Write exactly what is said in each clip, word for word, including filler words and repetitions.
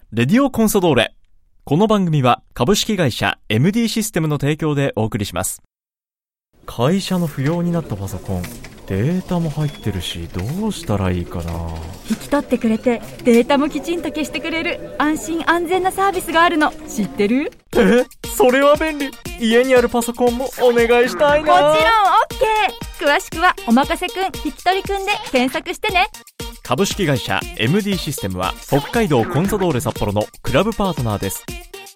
レディオコンソドーレ。この番組は株式会社 エムディー システムの提供でお送りします。会社の不要になったパソコン、データも入ってるし、どうしたらいいかな。 引き取ってくれてデータもきちんと消してくれる安心安全なサービスがあるの知ってる？ え、それは便利。家にあるパソコンもお願いしたいな。 もちろん OK。 詳しくはおまかせくん引き取りくんで検索してね。 株式会社 エムディー システムは北海道コンサドーレ札幌のクラブパートナーです。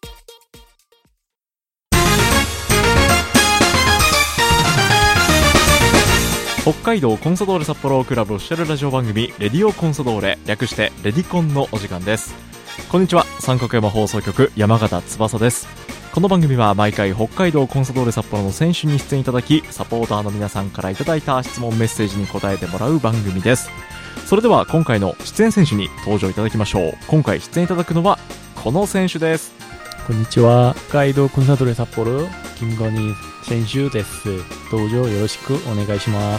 北海道コンサドーレ札幌クラブオフィシャルラジオ番組レディオコンサドーレ、略してレディコンのお時間です。こんにちは、三角山放送局山形翼です。この番組は毎回北海道コンサドーレ札幌の選手に出演いただき、サポーターの皆さんからいただいた質問メッセージに答えてもらう番組です。それでは今回の出演選手に登場いただきましょう。今回出演いただくのはこの選手です。 こんにちは、北海道コンサドーレ札幌김건희選手です。どうぞよろしくお願いします。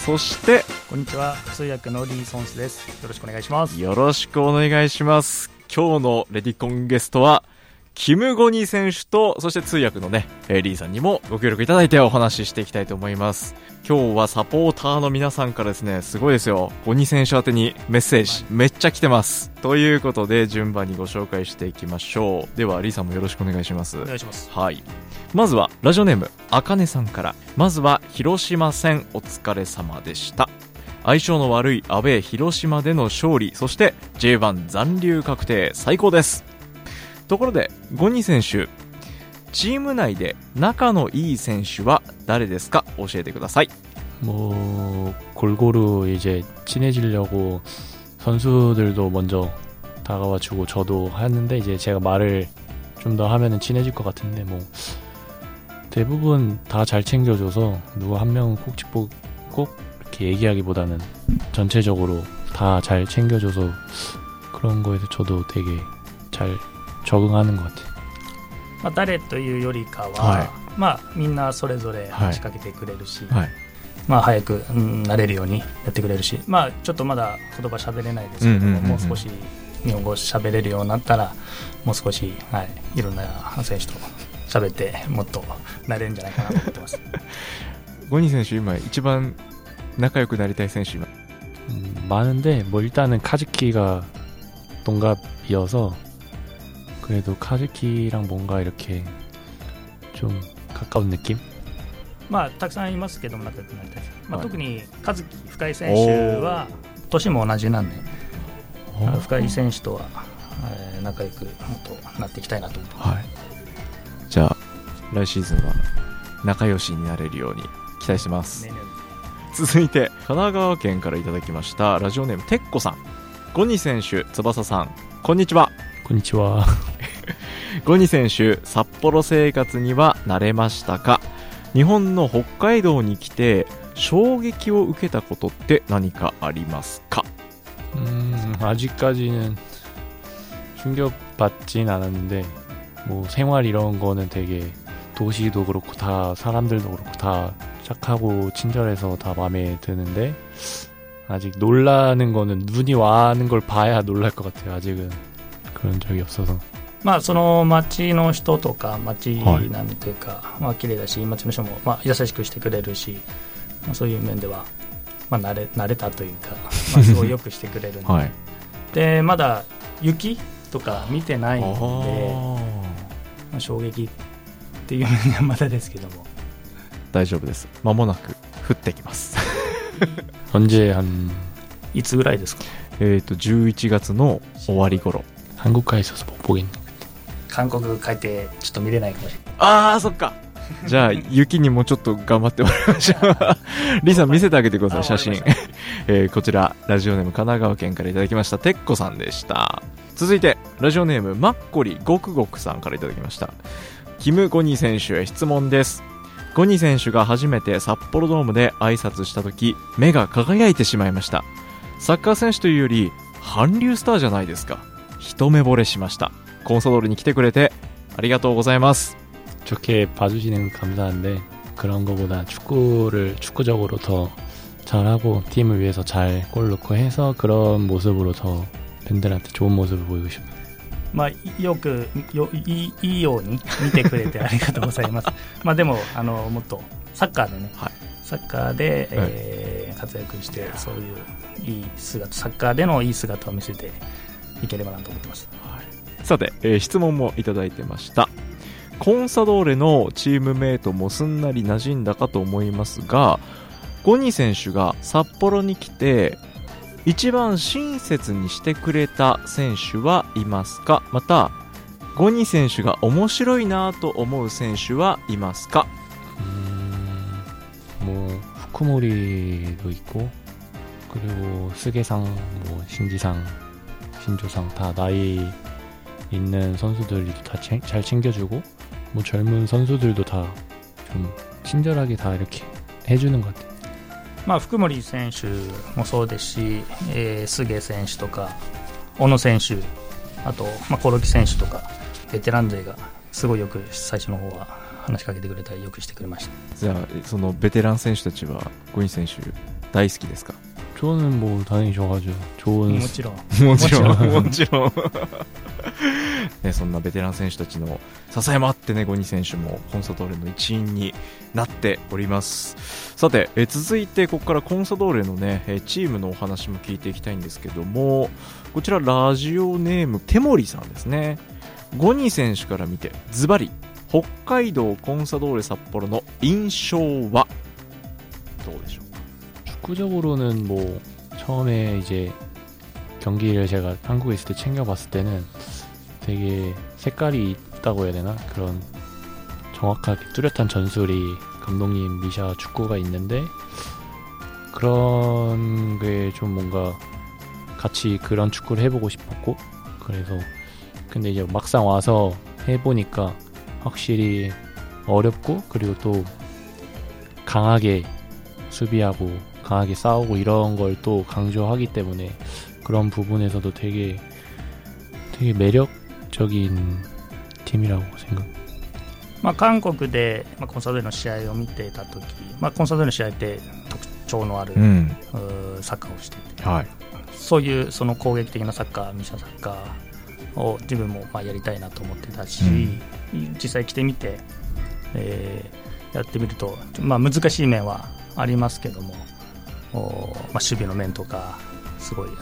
そしてこんにちは、通訳のリー・ソンスです。よろしくお願いします。 よろしくお願いします。今日のレディコンゲストはキム・ゴニ選手と、そして通訳のね、えー、リーさんにもご協力いただいてお話ししていきたいと思います。今日はサポーターの皆さんからですね、すごいですよ、ゴニ選手宛てにメッセージめっちゃ来てます。ということで順番にご紹介していきましょう。ではリーさんもよろしくお願いします。 お願いします。 はい、まずはラジオネームあかねさんから。まずは広島戦お疲れ様でした。相性の悪いアウェー広島での勝利、そして ジェイワン 残留確定、最高です。ところでゴニ選手、チーム内で仲のいい選手は誰ですか？教えてください。 뭐 골고루 이제 친해지려고 선수들도 먼저 다가와주고 저도 하는데, 이제 제가 말을 좀 더 하면은 친해질 것 같은데, 뭐 대부분 다 잘 챙겨줘서 누구 한 명은 꼭 짚고 꼭 이렇게 얘기하기보다는 전체적으로 다 잘 챙겨줘서 그런 거에서 저도 되게 잘 적응하는 것 같아요. まあ、誰というよりかは、 はい、 まあ、みんなそれぞれ話しかけてくれるし、 はい、 まあ、早く、うん、なれるようにやってくれるし、まあ、ちょっとまだ言葉喋れないですけども、うんうんうんうん、もう少し日本語喋れるようになったらもう少し、はい、いろんな選手と喋ってもっとなれるんじゃないかなと思ってます。 ゴニ選手今一番仲良くなりたい選手今、음, 많은데 뭐 일단은 카즈키가 동갑이어서 그래도 카즈키랑 뭔가 이렇게 좀 가까운 느낌? まあたくさんいますけども仲良くなりたいです。まあ、特にカズキ深井選手は年も同じなんで、深井選手とは、えー、仲良くもっとなっていきたいなと思ってます。はい、 じゃあ来シーズンは仲良しになれるように期待してます。ねね、続いて神奈川県からいただきましたラジオネームてっこさん。ゴニ選手、翼さん、こんにちは。 こんにちは。 ゴニ選手、札幌生活には慣れましたか？日本の北海道に来て衝撃を受けたことって何かありますか？ 음, 아직까지는 충격받진 않았는데, 뭐 생활 이런 거는 되게 도시도 그렇고 다 사람들도 그렇고 다 착하고 친절해서 다 마음에 드는데, 아직 놀라는 거는 눈이 와는 걸 봐야 놀랄 것 같아요. 아직은 그런 적이 없어서. まあ、その町の人とか町なんていうか、はい、まあ綺麗だし、町の人もまあ優しくしてくれるし、まあ、そういう面では、まあ、慣れ、慣れたというか、まあ、すごいよくしてくれるんで、はい、でまだ雪とか見てないので、まあ、衝撃っていう面ではまだですけども大丈夫です。間もなく降ってきます。 언제 한 いつぐらいですか？ えっとじゅういちがつの終わり頃。 한국가에 있어서 못 보겠네. 韓国帰ってちょっと見れないかもしれない。 ああ、そっか。じゃあ雪にもちょっと頑張ってもらいましょう。リーさん見せてあげてください、写真。えー、こちらラジオネーム神奈川県からいただきましたてっこさんでした。続いてラジオネームマッコリごくごくさんからいただきました。キム・ゴニ選手へ質問です。ゴニ選手が初めて札幌ドームで挨拶した時、目が輝いてしまいました。サッカー選手というより韓流スターじゃないですか。一目惚れしました。コンサドールに来てくれてありがとうございます。 좋게 봐주시는 거 감사한데, 그런 거보다 축구를 축구적으로 더 잘하고 팀을 위해서 잘 골 넣고 해서 그런 모습으로 더 팬들한테 좋은 모습을 보이고 싶어요. まあ、よくよ い, い, いいように見てくれてありがとうございますまあでもあのもっとサッカーでね、はい、サッカーで、えーはい、活躍してそういういい姿サッカーでのいい姿を見せていければなと思ってます、 はい、さて、えー、質問もいただいてました。コンサドーレのチームメイトもすんなり馴染んだかと思いますが、ゴニ選手が札幌に来て一番親切にしてくれた選手はいますか？またゴニ選手が面白いなと思う選手はいますか？ 음, 뭐 후쿠모리도 있고 그리고 스게상, 뭐 신지상, 신조상 다 나이 있는 선수들이 다 잘 챙겨주고 뭐 젊은 선수들도 다 좀 친절하게 다 이렇게 해주는 것 같아요. まあ、福森選手もそうですし、えー、菅選手とか小野選手、あと、まあ、コロキ選手とかベテラン勢がすごいよく最初の方は話しかけてくれたりよくしてくれました。 じゃあそのベテラン選手たちはゴニ選手大好きですか？ 저는 뭐 당연히 좋아하죠. 좋은 もちろんもちろんもちろんね、そんなベテラン選手たちの支えもあってね、ゴニ選手もコンサドーレの一員になっております。さて、え続いてここからコンサドーレのねチームのお話も聞いていきたいんですけども、こちらラジオネームテモリさんですね。ゴニ選手から見てズバリ北海道コンサドーレ札幌の印象はどうでしょう？ 축구적으로는 뭐 처음에 이제 경기를 제가 한국에 있을 때 챙겨봤을 때는 되게 색깔이 있다고 해야 되나? 그런 정확하게 뚜렷한 전술이 감독님 미샤 축구가 있는데 그런 게 좀 뭔가 같이 그런 축구를 해보고 싶었고, 그래서 근데 이제 막상 와서 해보니까 확실히 어렵고 그리고 또 강하게 수비하고 강하게 싸우고 이런 걸 또 강조하기 때문에 그런 부분에서도 되게 되게 매력적인 팀이라고 생각. まあ、韓国で、まあ、コンサドーレの試合を見ていたとき、まあ、コンサドーレの試合って特徴のある、うん、サッカーをしていて、はい、そういうその攻撃的なサッカー、ミシャサッカーを自分もまあやりたいなと思ってたし、うん、実際来てみて、えー、やってみると、まあ、難しい面はありますけども、まあ、守備の面とかすごい、うん、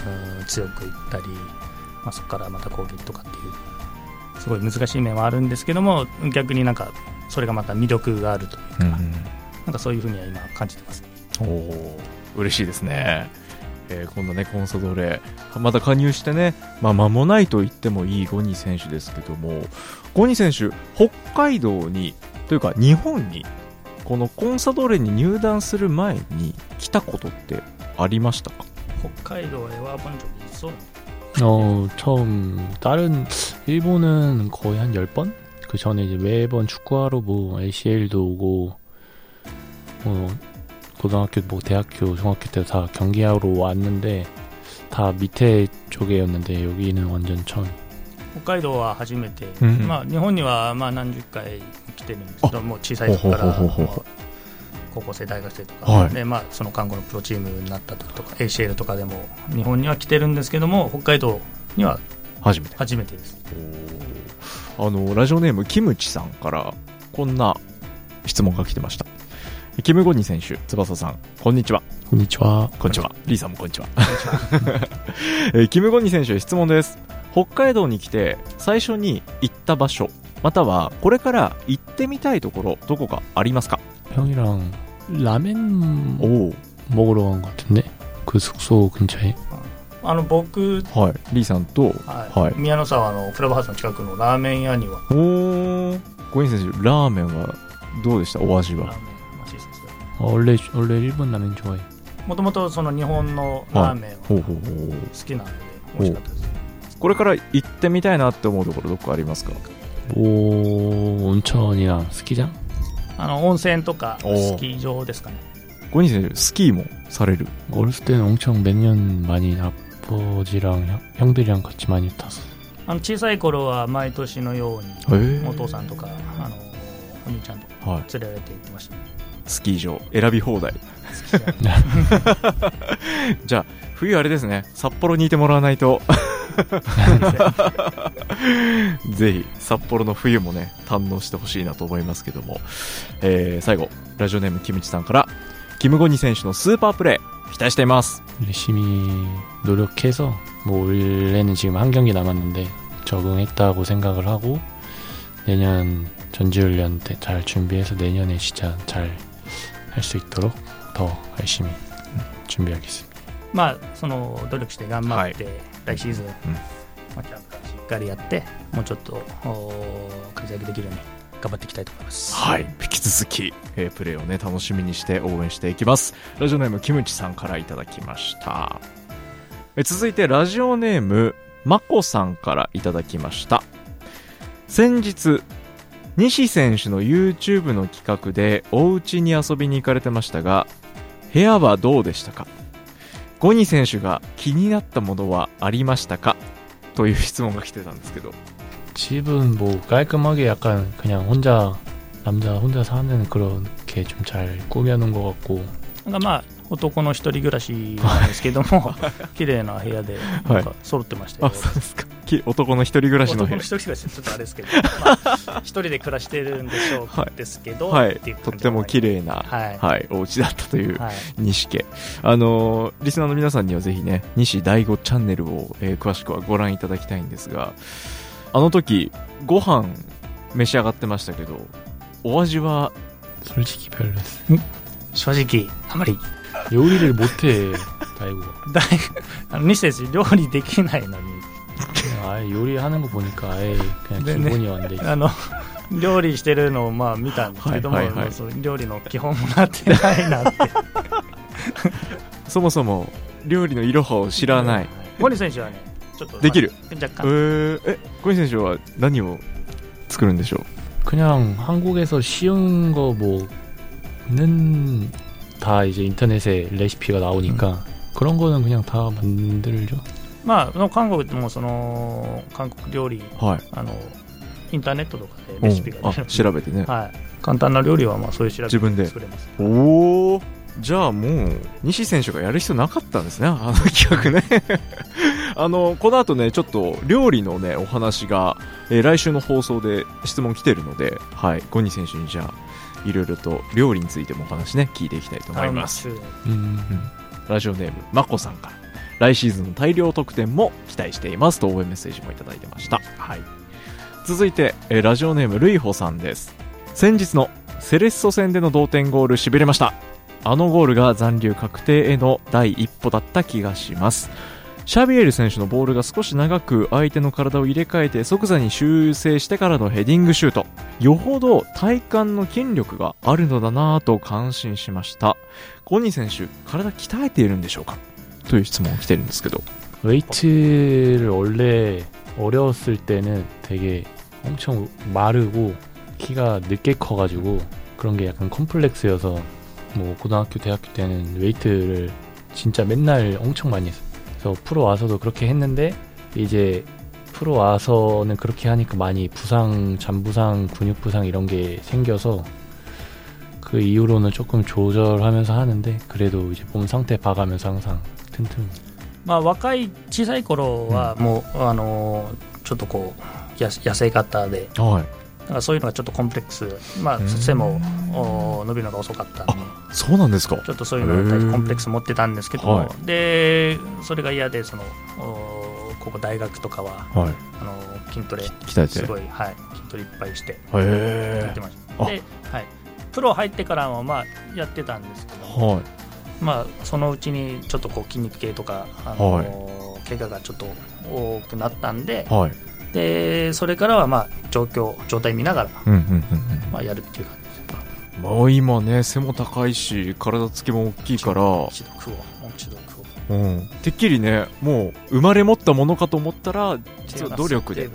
強くいったり、まあ、そこからまた攻撃とかっていうすごい難しい面はあるんですけども、逆になんかそれがまた魅力があるというか、うん、なんかそういうふうには今感じてます。 おー、嬉しいですね。えー、今度ねコンサドーレまた加入してね、まあ、間もないと言ってもいいゴニ選手ですけども、ゴニ選手北海道にというか日本にこのコンサドーレに入団する前に来たことってありましたか？ 北海道へは본 적이 있어? 어, 처음 다른 일본은 거의 한 열 번? 그 전에 이제 매번 축구하러 뭐 에이씨엘도 오고 뭐 고등학교 뭐 대학교 중학교 때 다 경기하러 왔는데 다 밑에 쪽이었는데 여기는 완전 처음. 北海道は初めて、うん、まあ日本にはまあ何十回来てるんですけども、小さい時から高校生大学生とか、はい、でまあその看護のプロチームになった時とか エーシーエル とかでも日本には来てるんですけども、北海道には初めて初めてです。 あのラジオネームキムチさんからこんな質問が来てました。キムゴニ選手、翼さん、こんにちは。 こんにちは。 こんにちは。リーさんもこんにちは。えキムゴニ選手へ質問です。北海道に来て最初に行った場所、またはこれから行ってみたいところ、どこかありますか？ 형이랑 라멘 오 먹으러 간 것 같은데 그 숙소 근처에. あの僕、 はい、リーさんと、 はいはい、宮の沢のクラブハウスの近くのラーメン屋には。 おー、ゴニ選手、ラーメンはどうでした？お味は。 원래 원래 일본 라면 좋아해. もともとその日本のラーメンを好きなので美味しかったです。 これから行ってみたいなって思うところどこありますか？ お온천이나 스키장? あの温泉とかスキー場ですかね。 ゴニ選手スキーもされる? 어렸을 때는 엄청 매년 많이 아버지랑 형, 형들이랑 같이 많이 탔어. あの小さい頃は毎年のようにお父さんとかあのお兄ちゃんとか連れられて行ってました、ね。 スキー場選び放題。じゃあ冬あれですね、札幌にいてもらわないとぜひ札幌の冬もね堪能してほしいなと思いますけども、えー、最後ラジオネームキムチさんから、キムゴニ選手のスーパープレー期待しています。 열심히 노력해서 뭐 원래는 지금 한 경기 남았는데 적응했다고 생각을 하고 내년 전지훈련 때 잘 준비해서 내년에 진짜 잘 할 수 있도록 더 열심히 준비하겠습니다. まあその努力して頑張って、 はい、 来シーズン、 うん、 まあ、キャンプからしっかりやってもうちょっと活躍できるように頑張っていきたいと思います。 はい、引き続き、えー、プレーをね楽しみにして応援していきます。ラジオネームキムチさんからいただきました。えー、続いてラジオネームマコさんからいただきました。先日西選手の YouTube の企画でお家に遊びに行かれてましたが、部屋はどうでしたか？ゴニ選手が気になったものはありましたか？という質問が来てたんですけど。 집은 뭐 깔끔하게 약간 그냥 혼자 남자 혼자 사는 그렇게 좀 잘 꾸며놓은 것 같고, なんかまあ男の一人暮らしなんですけども綺麗な部屋でなんか揃ってましたよ。 あ、そうですか。男の一人暮らしの部屋。 男の一人暮らしちょっとあれですけど、まあ、一人で暮らしてるんでしょう、はい、ですけど、 はい、 っていうとっても綺麗な、 はいはい、お家だったという、 はい、 西家。あのー、リスナーの皆さんにはぜひね西大吾チャンネルを、えー、詳しくはご覧いただきたいんですが、あの時ご飯召し上がってましたけどお味は？ 솔직히 별로였어. 正直あまり 요리를 못해 다이고가. だいあの西選手料理できないのに 아예 요리하는 거 보니까 아예 그냥 네, 기본이 네. 안 돼 있어. あの料理してるのをまあ見たんですけども、 はいはいはい、 その料理の基本もなってないなってそもそも料理のいろはを知らない。 ゴニ選手はねちょっとできる、 まあ、若干、 えー、えゴニ選手は何を作るんでしょう？ 그냥 한국에서 쉬운 거 뭐는 다 이제 인터넷에 레시피가 나오니까 음. 그런 거는 그냥 다 만들죠. まあ韓国でもその韓国料理、 はい、 あのインターネットとかでレシピが出る、 あ調べてね、 はい、簡単な料理はまあそういう調べて自分で作れます。 おお、じゃあもう西選手がやる必要なかったんですね、あの企画ねあのこの後ねちょっと料理のねお話が、えー、来週の放送で質問来てるので、はい、ゴニ選手にじゃあいろいろと料理についてもお話ね聞いていきたいと思います。うん、うん、ラジオネームまこさんから来シーズンの大量得点も期待していますと応援メッセージもいただいてました。はい、続いて、えー、ラジオネームルイホさんです。先日のセレッソ戦での同点ゴールしびれました。あのゴールが残留確定への第一歩だった気がします。シャビエル選手のボールが少し長く相手の体を入れ替えて即座に修正してからのヘディングシュート、よほど体幹の筋力があるのだなぁと感心しました。ゴニ選手体鍛えているんでしょうかという質問が来てるんですけど。 웨이트를 원래 어려웠을 때는 되게 엄청 마르고 키가 늦게 커가지고 그런 게 약간 컴플렉스여서 뭐 고등학교 대학교 때는 웨이트를 진짜 맨날 엄청 많이 했어요. 그래서 프로 와서도 그렇게 했는데 이제 프로 와서는 그렇게 하니까 많이 부상, 잔부상, 근육부상 이런 게 생겨서 그 이후로는 조금 조절하면서 하는데 그래도 이제 몸 상태 봐가면서 항상 튼튼. まあ若い小さい頃はもう、うん、あのちょっとこう痩せ方で、はい、だからそういうのがちょっとコンプレックス、まあ背も伸びるのが遅かったんで。 そうなんですか。 ちょっとそういうのに対してコンプレックス持ってたんですけど、はい、でそれが嫌でそのここ大学とかは、はい、あの筋トレすごい、はい、筋トレいっぱいしてやってました。で、はい、プロ入ってからもまあやってたんですけど、はい、まあそのうちにちょっとこう筋肉系とかあの、はい、怪我がちょっと多くなったんで、はい、でそれからはまあ状況状態見ながら、うんうんうんうん、まあやるっていう感じ。 もう今ね背も高いし体つきも大きいからうん、てっきりねもう生まれ持ったものかと思ったら実は努力で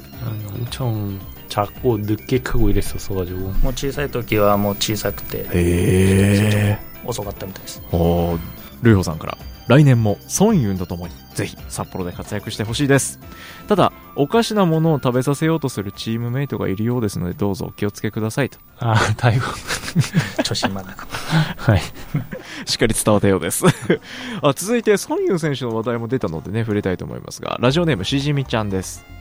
엄청 작고 늦게 크고 이랬었어가지고 もう小さい時はもう小さくてへー遅かったみたいです。 おルイホさんから来年もソンユンとともにぜひ札幌で活躍してほしいです。ただおかしなものを食べさせようとするチームメイトがいるようですのでどうぞお気をつけくださいと。 ああ大悟調子まだかはいしっかり伝わったようですあ続いてソンユン選手の話題も出たのでね触れたいと思いますが、ラジオネームしじみちゃんです。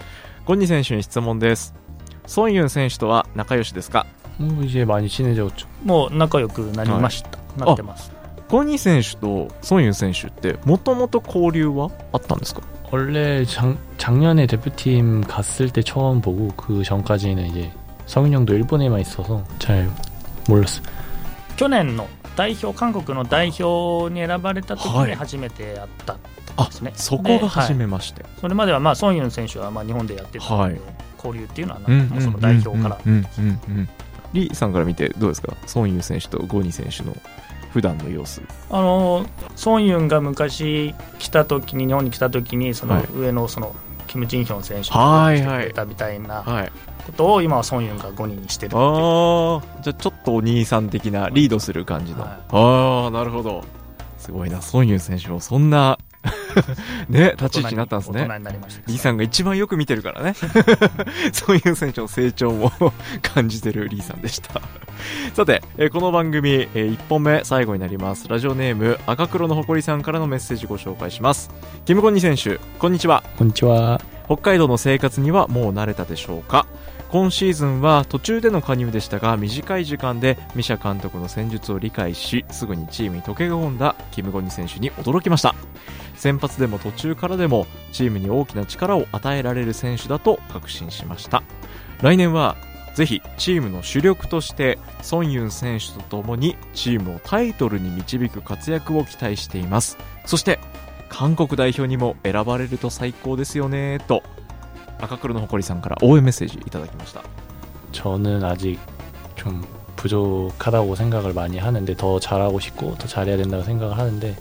ゴニ選手に質問です。ソンユン選手とは仲良しですか？ もう이제 많이 친해졌죠。 もう仲良くなりました、はい、なってます。 ゴニ選手とソンユン選手ってもともと交流はあったんですか？ 원래 작, 작년에 대표팀 갔을 때 처음 보고 그 전까지는 이제 성윤 형도 일본에만 있어서 잘 몰랐어요. 去年の代表韓国の代表に選ばれた時に初めてやったんですね、 はい、あそこが初めまして、はい、 それまではまあソンユン選手はまあ日本でやってたので、はい、交流っていうのはな、 うんうん、 その代表から、 うんうんうんうん、リさんから見てどうですか？ソンユン選手とゴニ選手の普段の様子。 あのソンユンが昔来た時に日本に来た時にその上のそのキム・ジンヒョン選手がしてくれたみたいなことを今はソンユンがゴニにしてるっていう。 ああ、じゃあちょっとお兄さん的なリードする感じの、はい、ああなるほど。すごいな、ソンユン選手もそんなね、立ち位置になったんですね。 大人になりました。 リーさんが一番よく見てるからねそういう選手の成長も感じてるリーさんでしたさて、えー、この番組、えー、いっぽんめ最後になります。ラジオネーム赤黒の誇りさんからのメッセージご紹介します。キム・ゴニ選手、こんにちは。 こんにちは。 北海道の生活にはもう慣れたでしょうか？今シーズンは途中での加入でしたが、短い時間でミシャ監督の戦術を理解し、すぐにチームに溶け込んだキム・ゴニ選手に驚きました。先発でも途中からでもチームに大きな力を与えられる選手だと確信しました。来年はぜひチームの主力としてソンユン選手とともにチームをタイトルに導く活躍を期待しています。そして韓国代表にも選ばれると最高ですよねと赤黒の誇りさんから応援メッセージいただきました。 저는 아직 좀 부족하다고 생각을 많이 하는데 더 잘하고 싶고 더 잘해야 된다고 생각을 하는데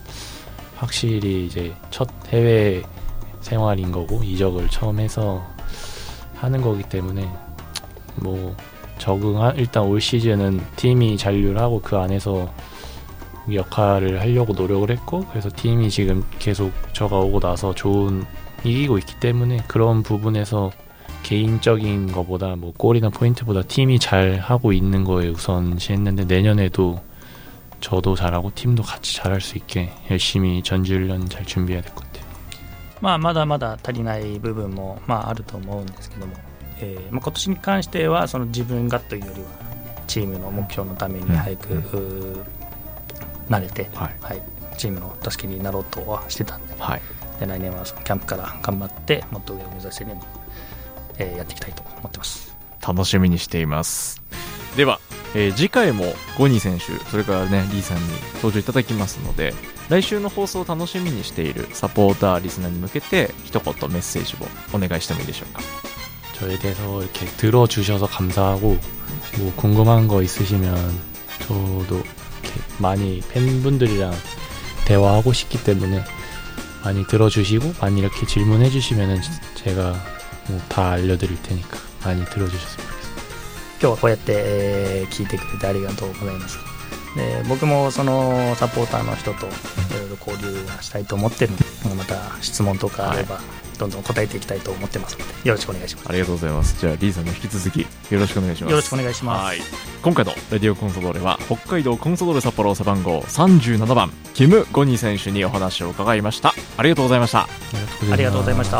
확실히 이제 첫 해외 생활인 거고 이적을 처음 해서 하는 거기 때문에 뭐 적응한 일단 올 시즌은 팀이 잔류를 하고 그 안에서 역할을 하려고 노력을 했고 그래서 팀이 지금 계속 저가 오고 나서 좋은 이기고 있기 때문에 그런 부분에서 개인적인 거보다 뭐 골이나 포인트보다 팀이 잘 하고 있는 거에 우선시했는데 내년에도 저도 잘하고 팀도 같이 잘할 수 있게 열심히 전지훈련 잘 준비해야 될 것 같아요. まあまだまだ足りない部分もまああると思うんですけども、えーまあ、今年に関してはその自分がというよりはチームの目標のために早く、うん、慣れて、はいはい、チームの助けになろうとはしてたんで、はい、で来年はそのキャンプから頑張ってもっと上を目指せるように、えー、やっていきたいと思ってます。 楽しみにしています。では、えー、次回もゴニー選手それからねリーさんに登場いただきますので来週の放送を楽しみにしているサポーターリスナーに向けて一言メッセージをお願いしてもいいでしょうか。 저에 대해서 이렇게 들어주셔서 감사하고 뭐 궁금한 거 있으시면 저도 이렇게 많이 팬분들이랑 대화하고 싶기 때문에 많이 들어주시고 많이 이렇게 질문해 주시면은 제가 뭐 다 알려드릴 테니까 많이 들어주셨으면 좋겠습니다. 今日はこうやって、えー、聞いてくれてありがとうございます。で僕もそのサポーターの人といろいろ交流はしたいと思ってるのでまた質問とかあれば、はい、どんどん答えていきたいと思ってますのでよろしくお願いします。 ありがとうございます。じゃあリーさんの引き続きよろしくお願いします。 よろしくお願いします。 はい、今回のレディオコンソドーレは北海道コンソドーレ札幌背番号さんじゅうななばんキム・ゴニー選手にお話を伺いました。ありがとうございました。 ありがとうございました。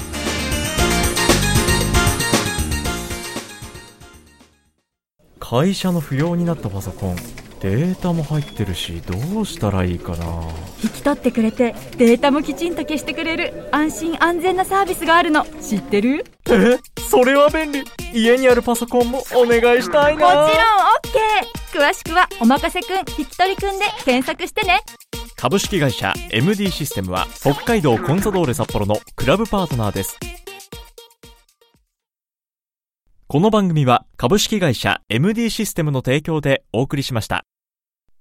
会社の不要になったパソコンデータも入ってるしどうしたらいいかな。 引き取ってくれてデータもきちんと消してくれる安心安全なサービスがあるの知ってる？ え、それは便利。家にあるパソコンもお願いしたいな。 もちろん OK。 詳しくはおまかせくん引き取りくんで検索してね。 株式会社 エムディー システムは北海道コンサドーレ札幌のクラブパートナーです。この番組は株式会社 エムディー システムの提供でお送りしました。